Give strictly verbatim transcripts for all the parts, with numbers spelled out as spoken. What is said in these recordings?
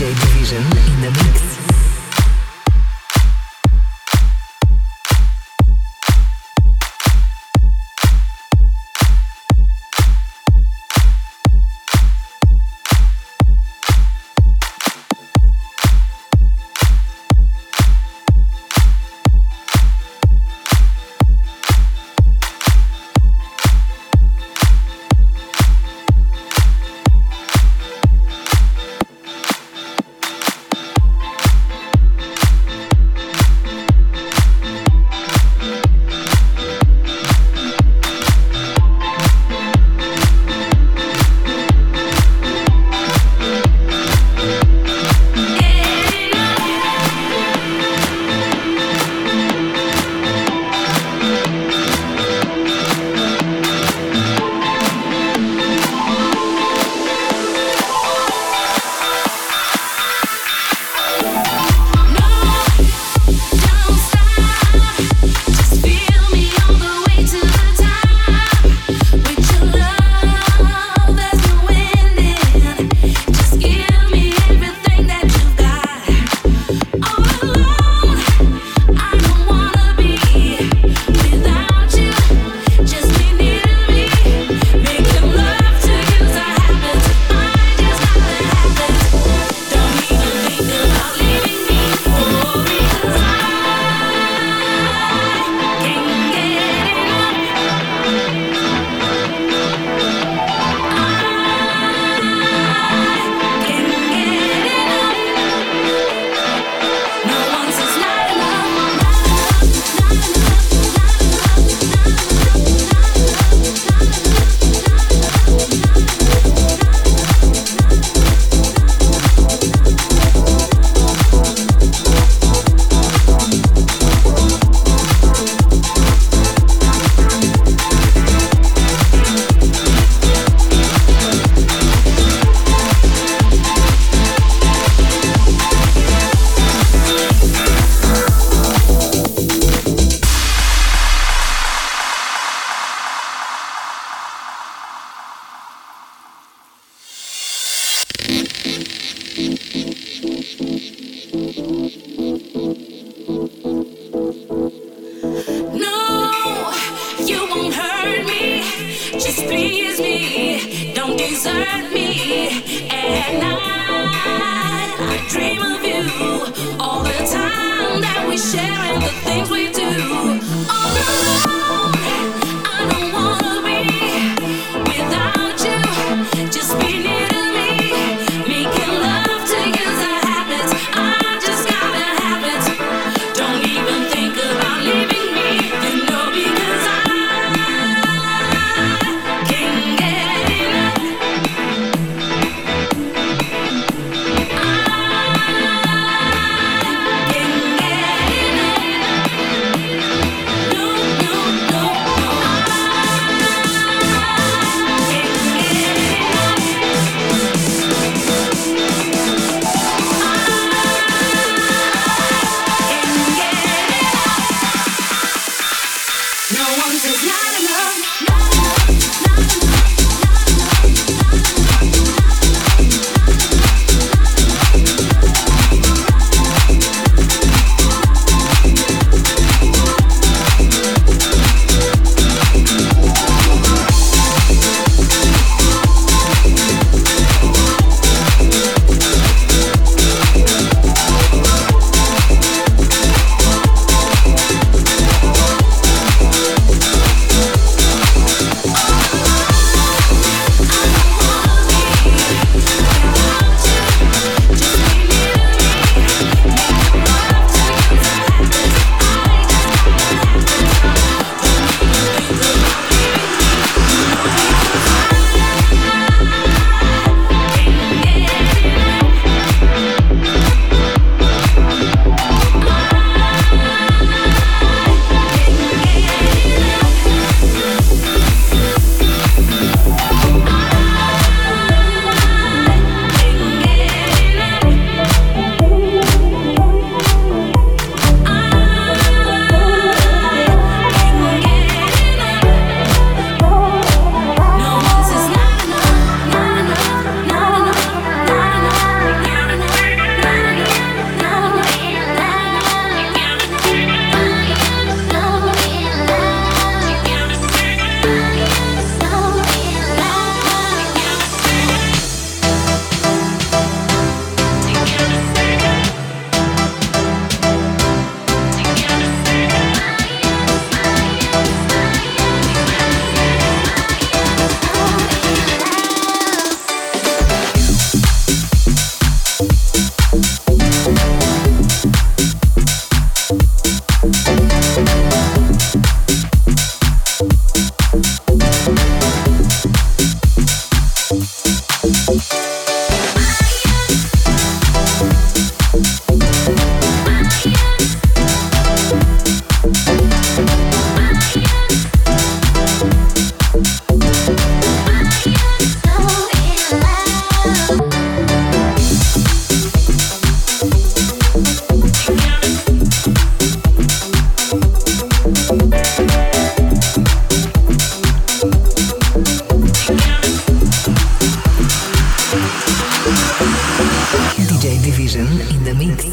Division in the mix. Enough. Selection in the mix.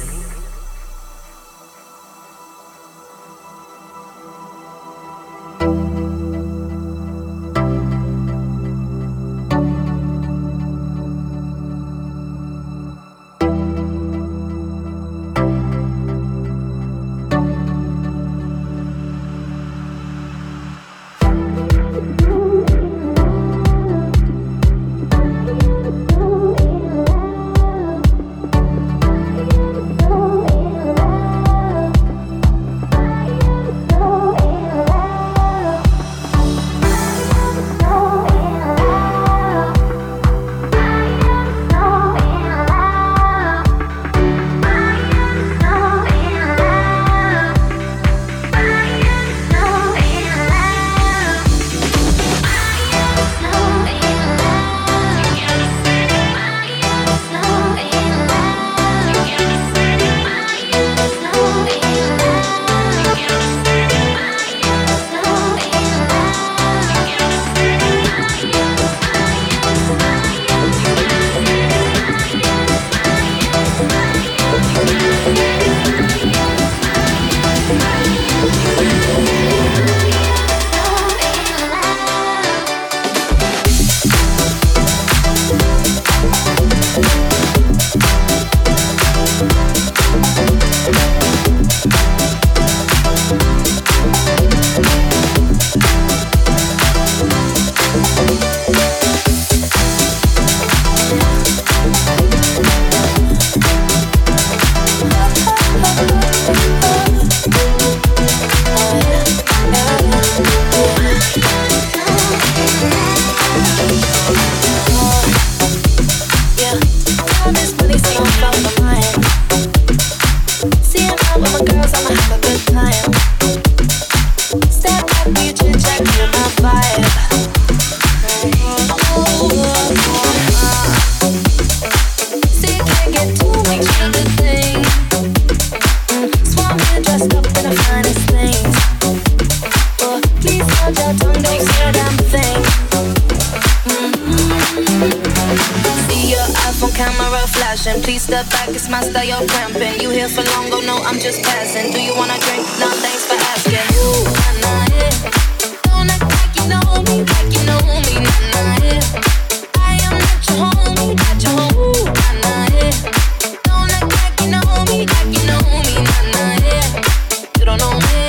Please step back, it's my style, you're cramping. You here for long, go no, I'm just passing. Do you wanna drink? No, thanks for asking. Ooh, nah, nah, yeah. Don't act like you know me, like you know me, nah, nah, yeah. I am not your homie, not your homie, nah, nah, yeah. Don't act like you know me, like you know me, nah, nah, yeah. You don't know me,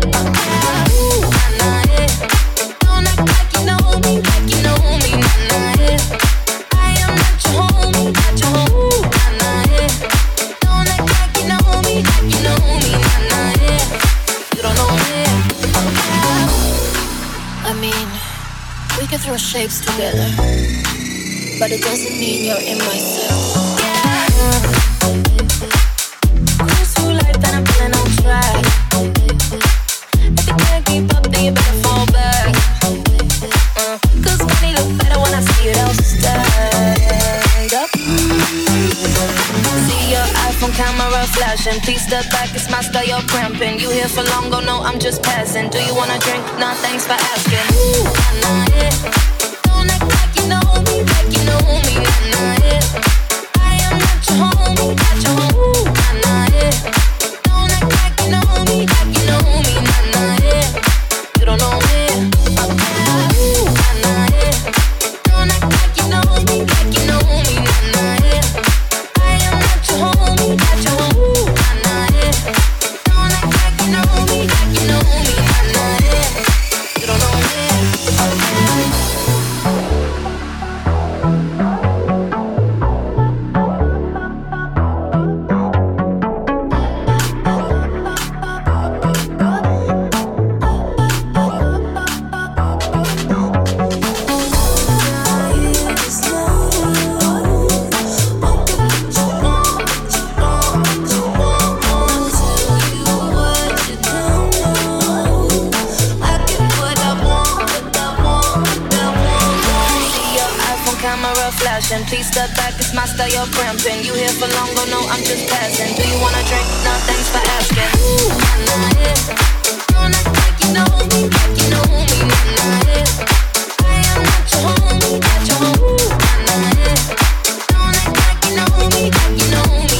ooh, nah, nah, yeah. Don't act like you know me, like you know me, nah, nah, yeah. I am not your homie, not your homie. Throw shapes together, but it doesn't mean you're in my circle. Yeah. Cruise through life and I'm feeling on track. If you can't keep up, then you better fall back. Uh, Cause money look better when I see it all stacked up. See your iPhone camera flashing. Please step back, it's my style, you're cramping. You here for long, go no, I'm just passing. Do you wanna drink? Nah, thanks for asking. Ooh, nah, nah, yeah. Don't act like you know me, like you know me, nah, nah, yeah. I am not your homie, not your homie, nah, nah, yeah. Don't act like you know me, like you know me, nah, nah, yeah. You don't know me, ooh, nah, nah, yeah. Don't act like you know me, like you know me, nah, nah, yeah. I am not your homie, not your homie, nah, nah, yeah. Don't act like you know me, like you know me, nah, nah, yeah. You don't know me. Please step back, it's my style, you're cramping. You here for long, go no, I'm just passing. Do you wanna drink? No, thanks for asking. Ooh, nah, nah, yeah. Don't act like you know me, like you know me, nah, nah, yeah. I am not your homie, not your homie, nah, nah, yeah. Don't act like you know me, like you know me.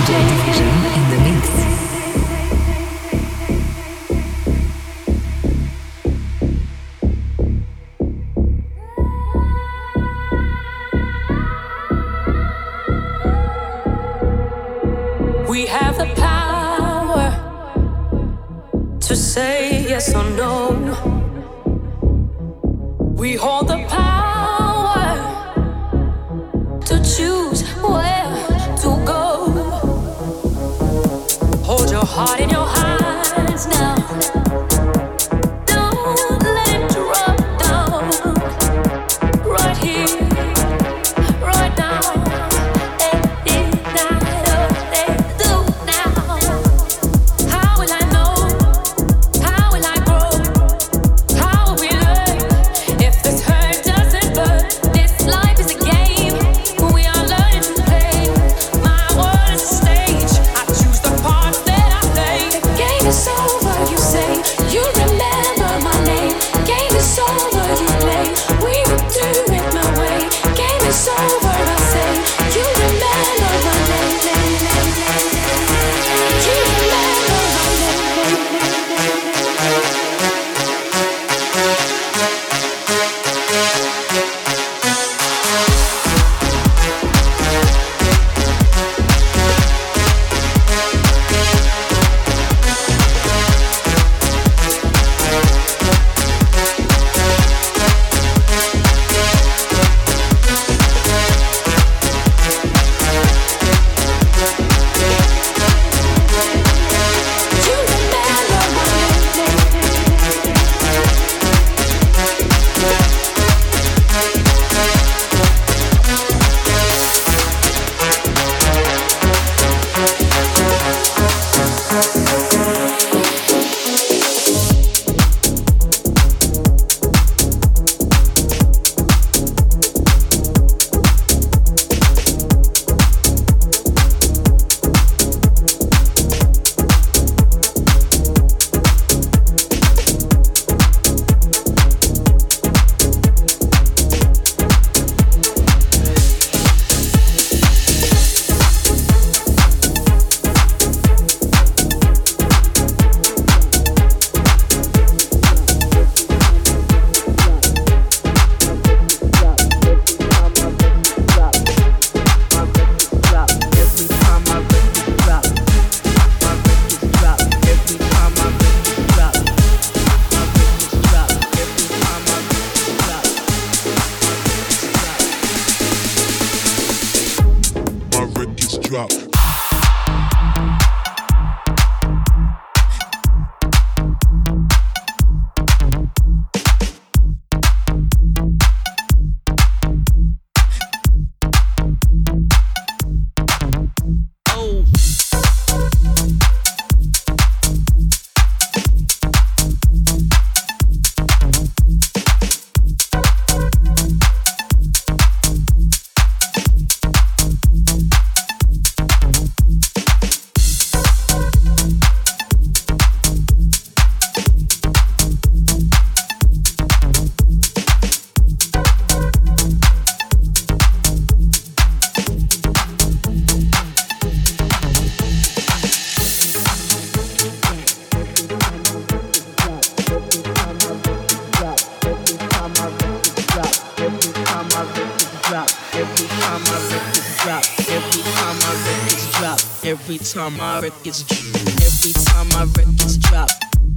Every time my records, every time my records drop.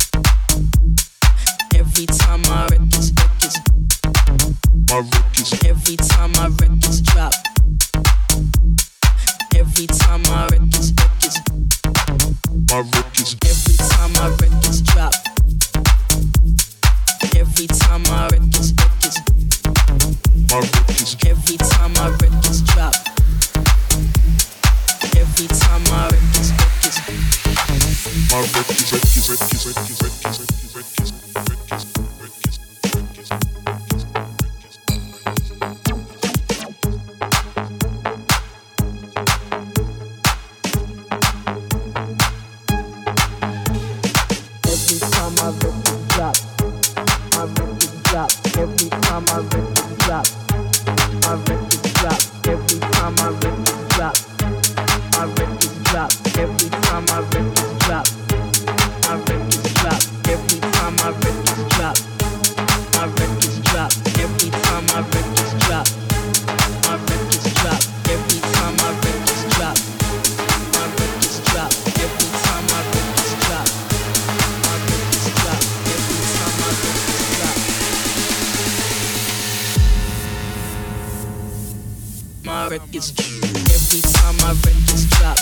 Every time my records, records, my records. Every time my records drop. Every time my records, records, my records. Every time my records drop. Every time my records, records, my records. Every time my records drop. Every time my records, records, my records, records, records, records, records, records, records, every time my records drop, my records drop. Every time my records drop, my records drop. Every time my records drop. My records drop, drop.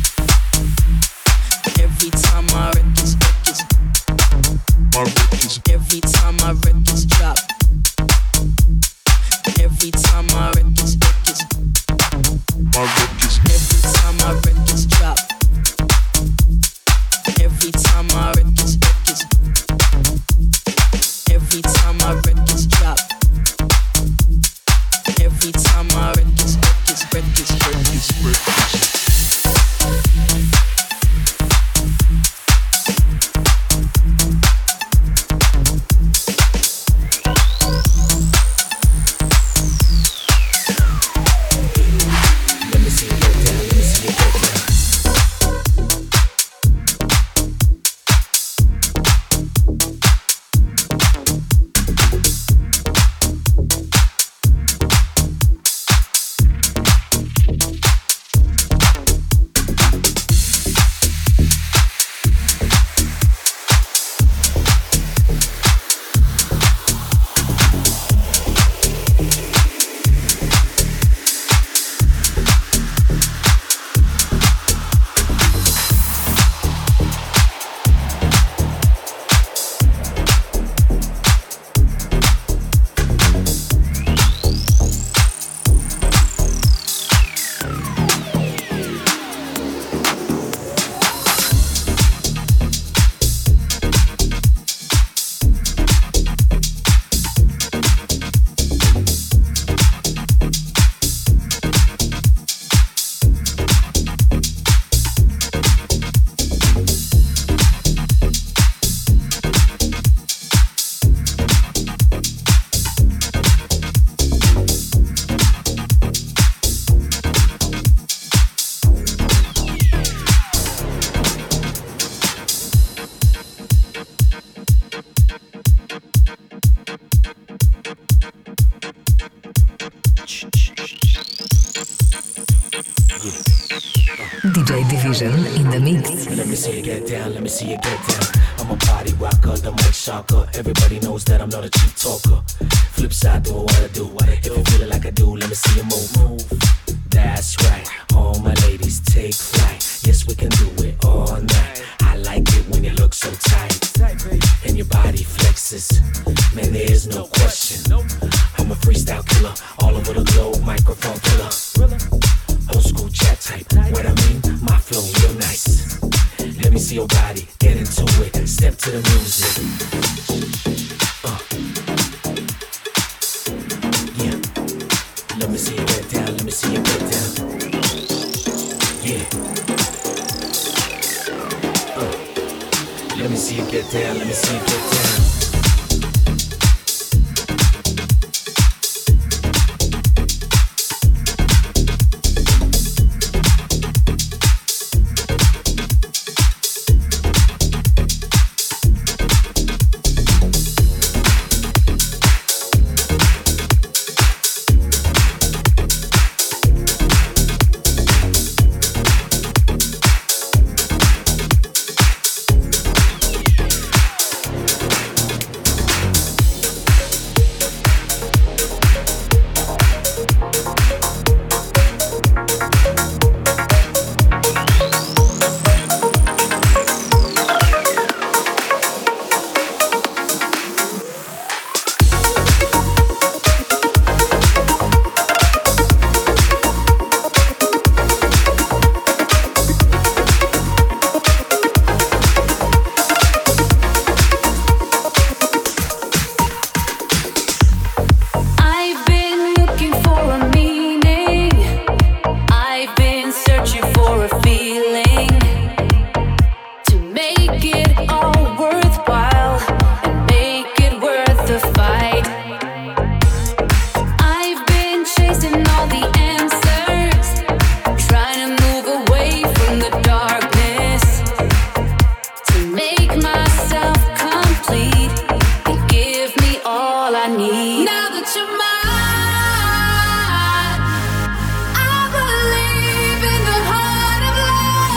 Every time my records, records, my records. Every time my records drop. Every time my records, records, my records. Every time my records drop. Every time my records, records. Every time my records drop. Every time my records, records, records, records, records. D J Division in the mix. Let me see you get down, let me see you get down. I'm a body rocker, the mic shocker. Everybody knows that I'm not a cheap talker. Flip side, do what I do. If you feel it like I do, let me see you move. Move. That's right, all my ladies take flight. Yes, we can do it all night. I like it when you look so tight and your body flexes. Man, there is no question. I'm a freestyle killer, all over the globe, microphone killer. Old school chat type, what I mean, my flow real nice. Let me see your body, get into it, step to the music. Uh. Yeah, let me see you get down, let me see you get down. Yeah. Uh. Let me see you get down, let me see you get down. I believe in the heart of love.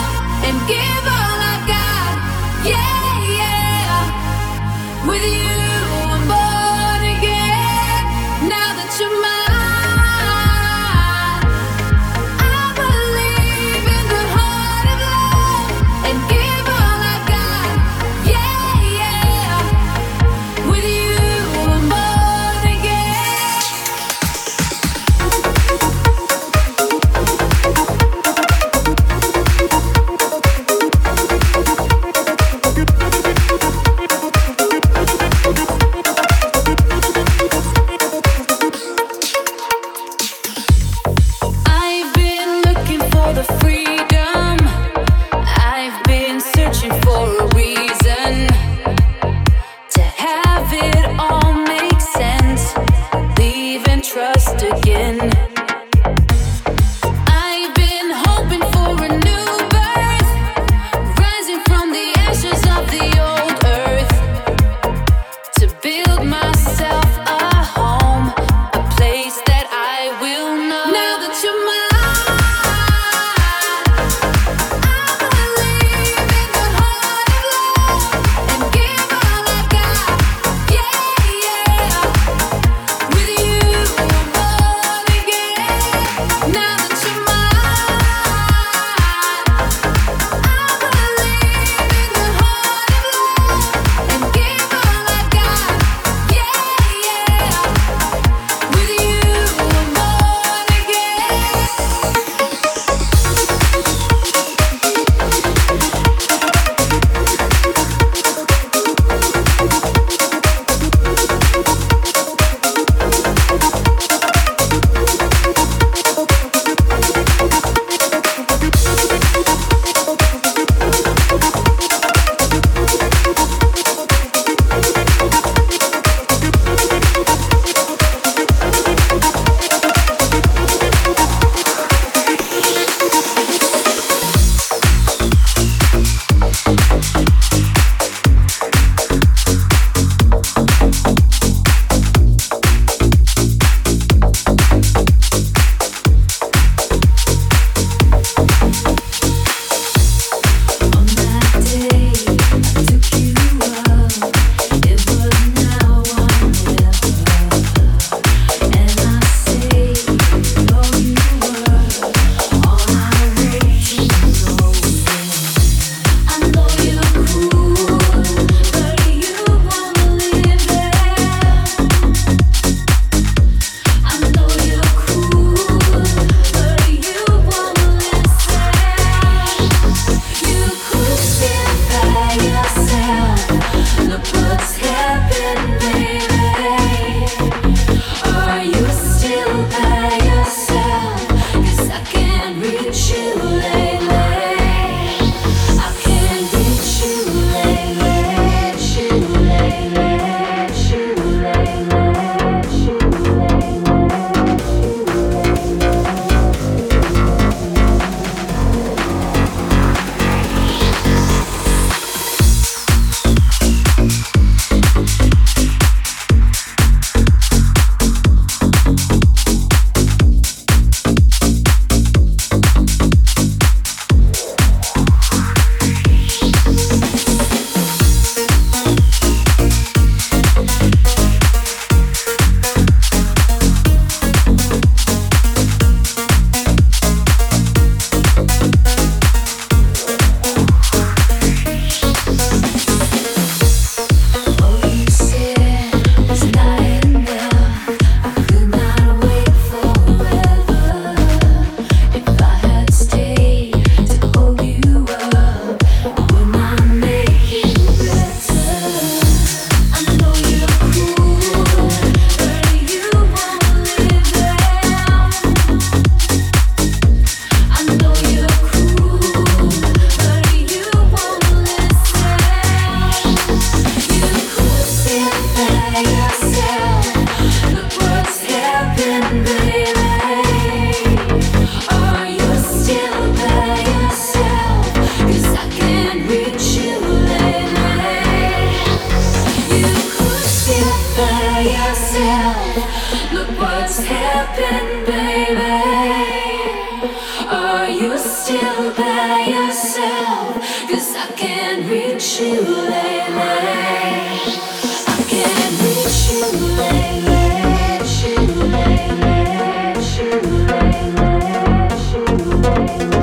by yourself, 'cause I can't reach you lately. I can't reach you lately. Reach you lately. Reach you lately. Reach you lately.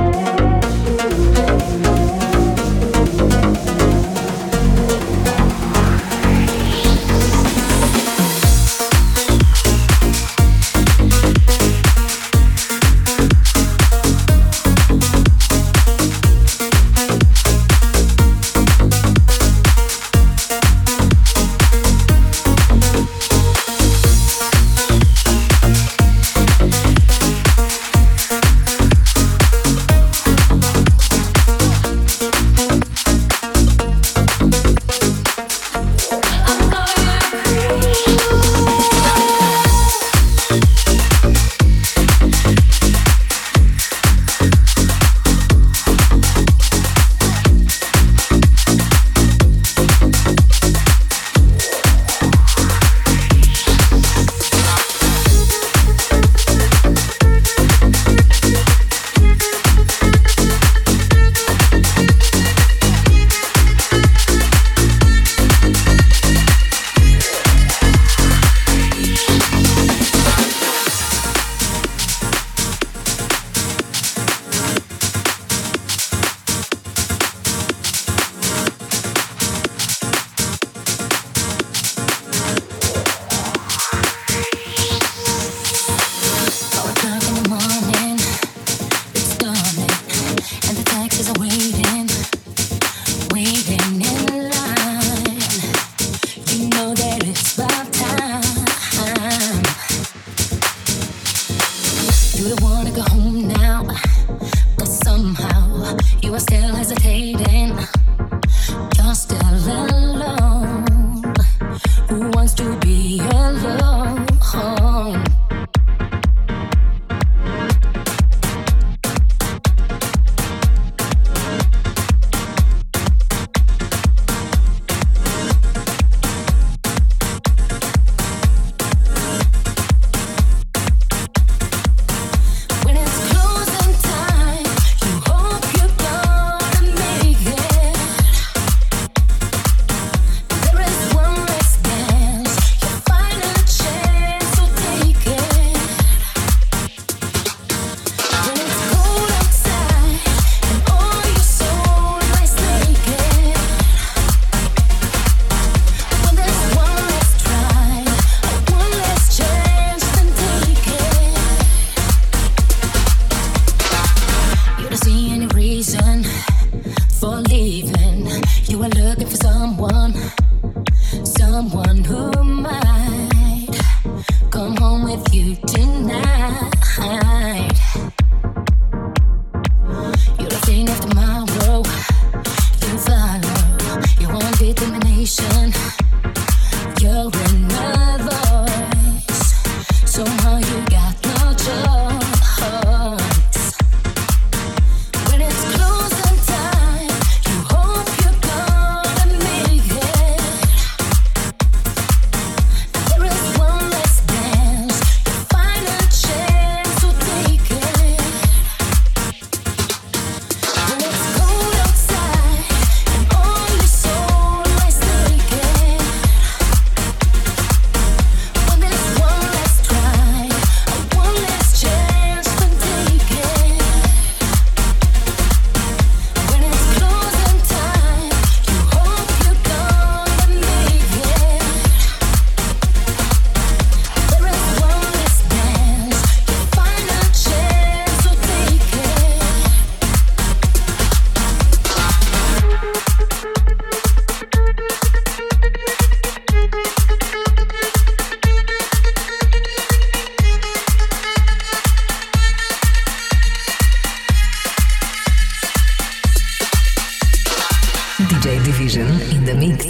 In the mix.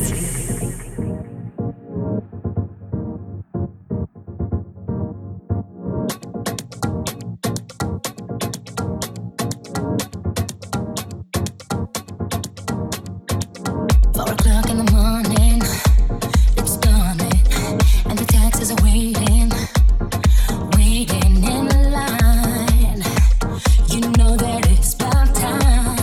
Waiting in line, you know that it's about time.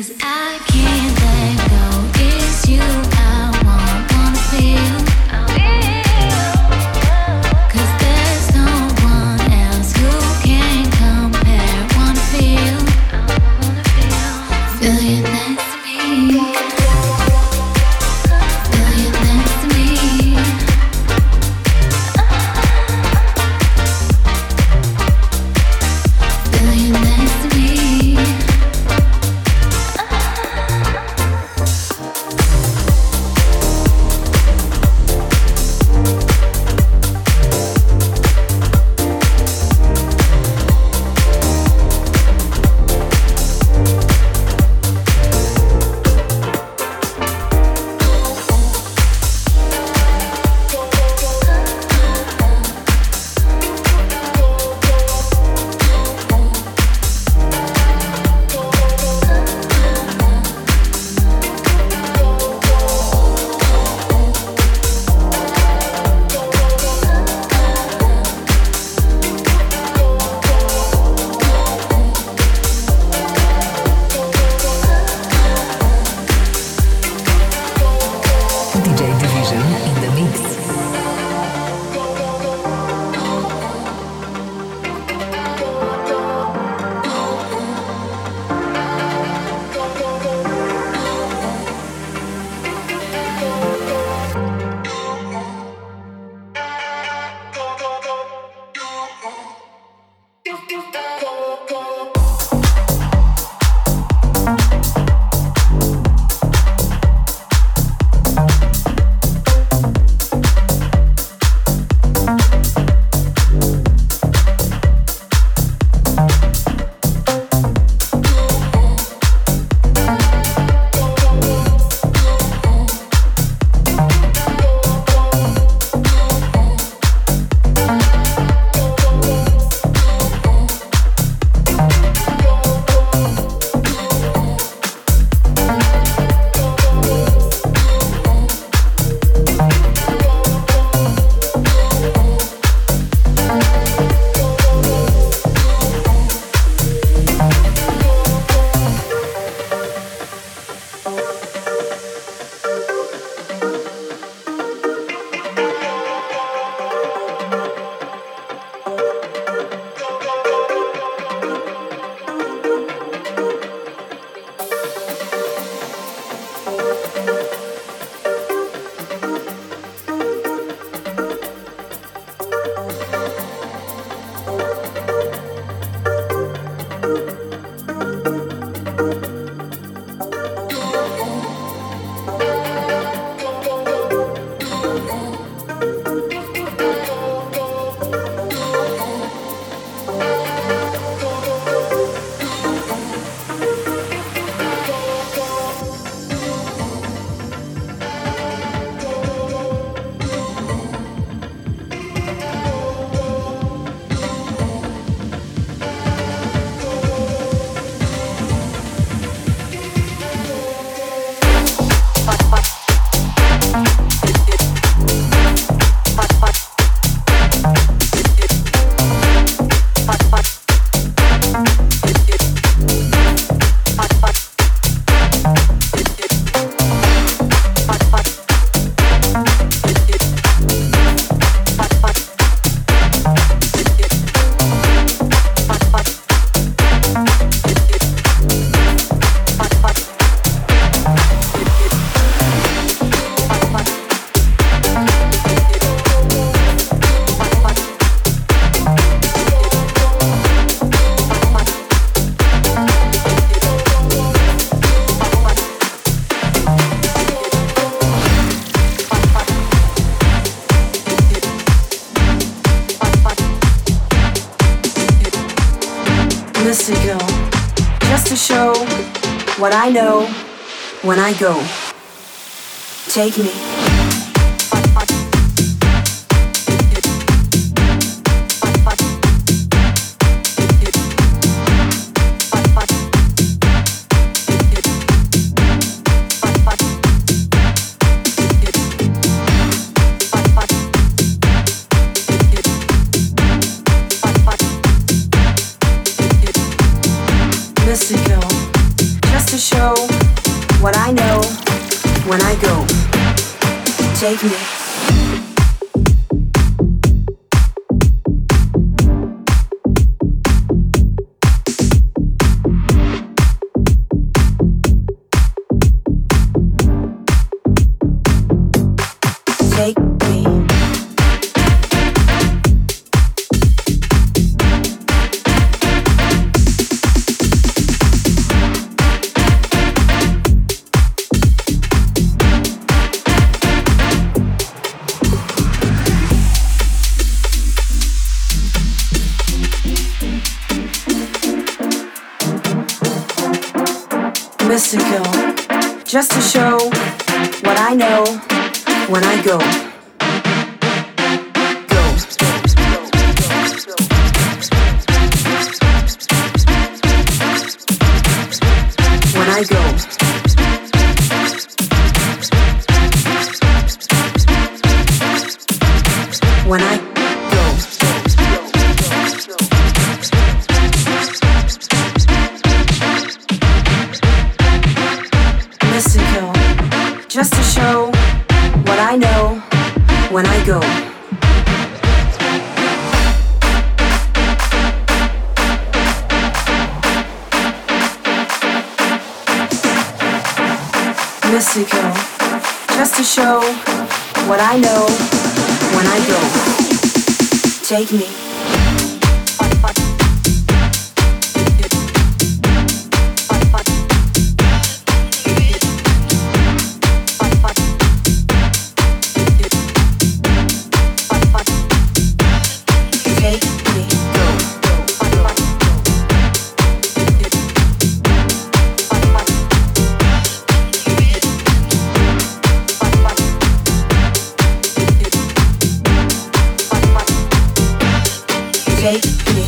what I know when I go. Take me. Listen, girl, just to show when I go. Take me. Take me. Mystical, just to show what I know when I go. Go. When I go. When I go. Mystical, just to show what I know when I go. Mystical, just to show what I know when I go. Take me. Take me.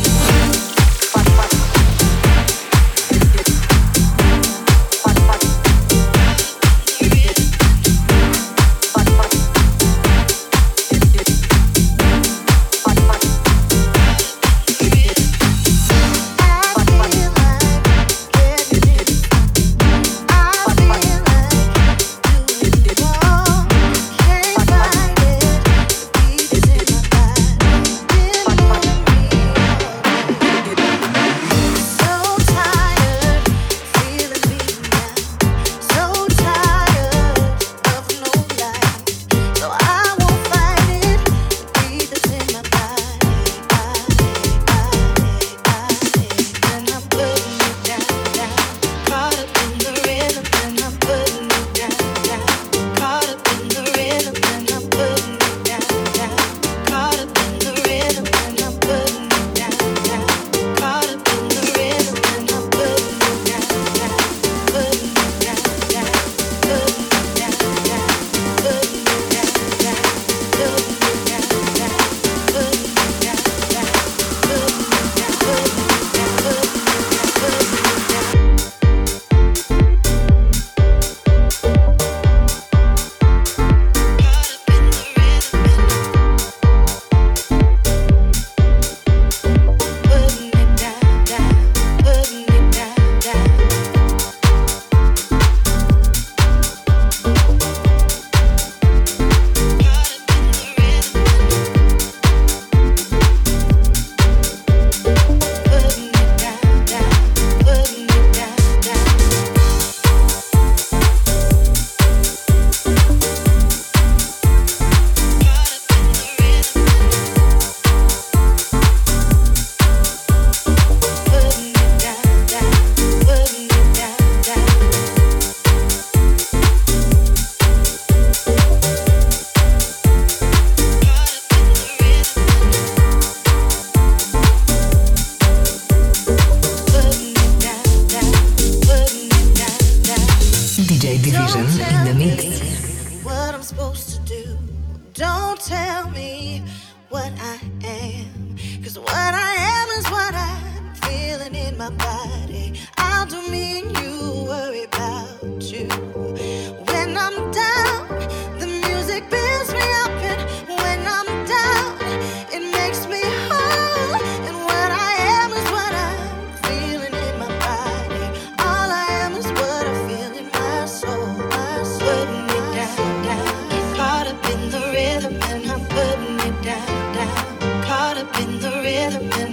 Putting it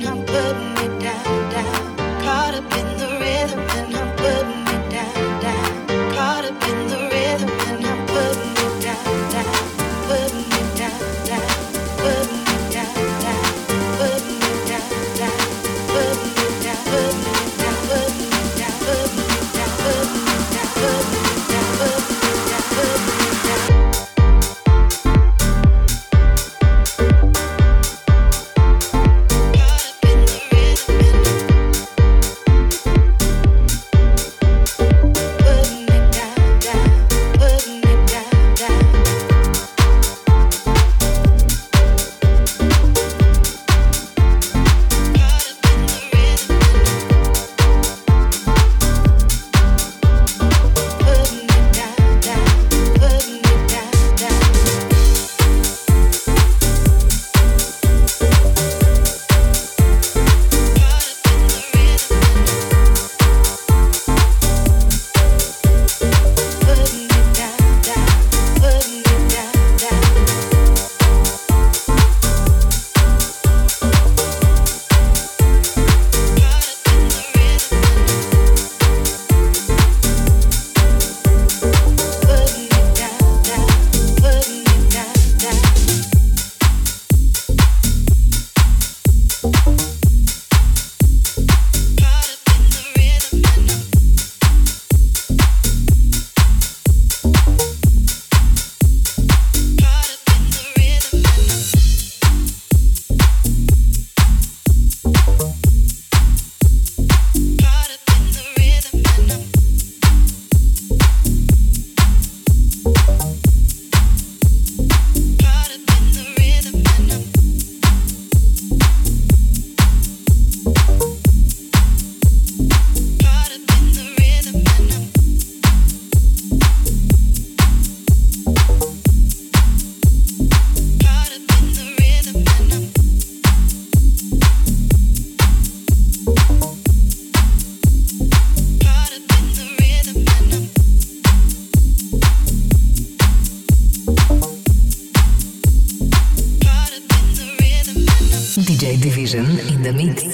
D J Division in the mix.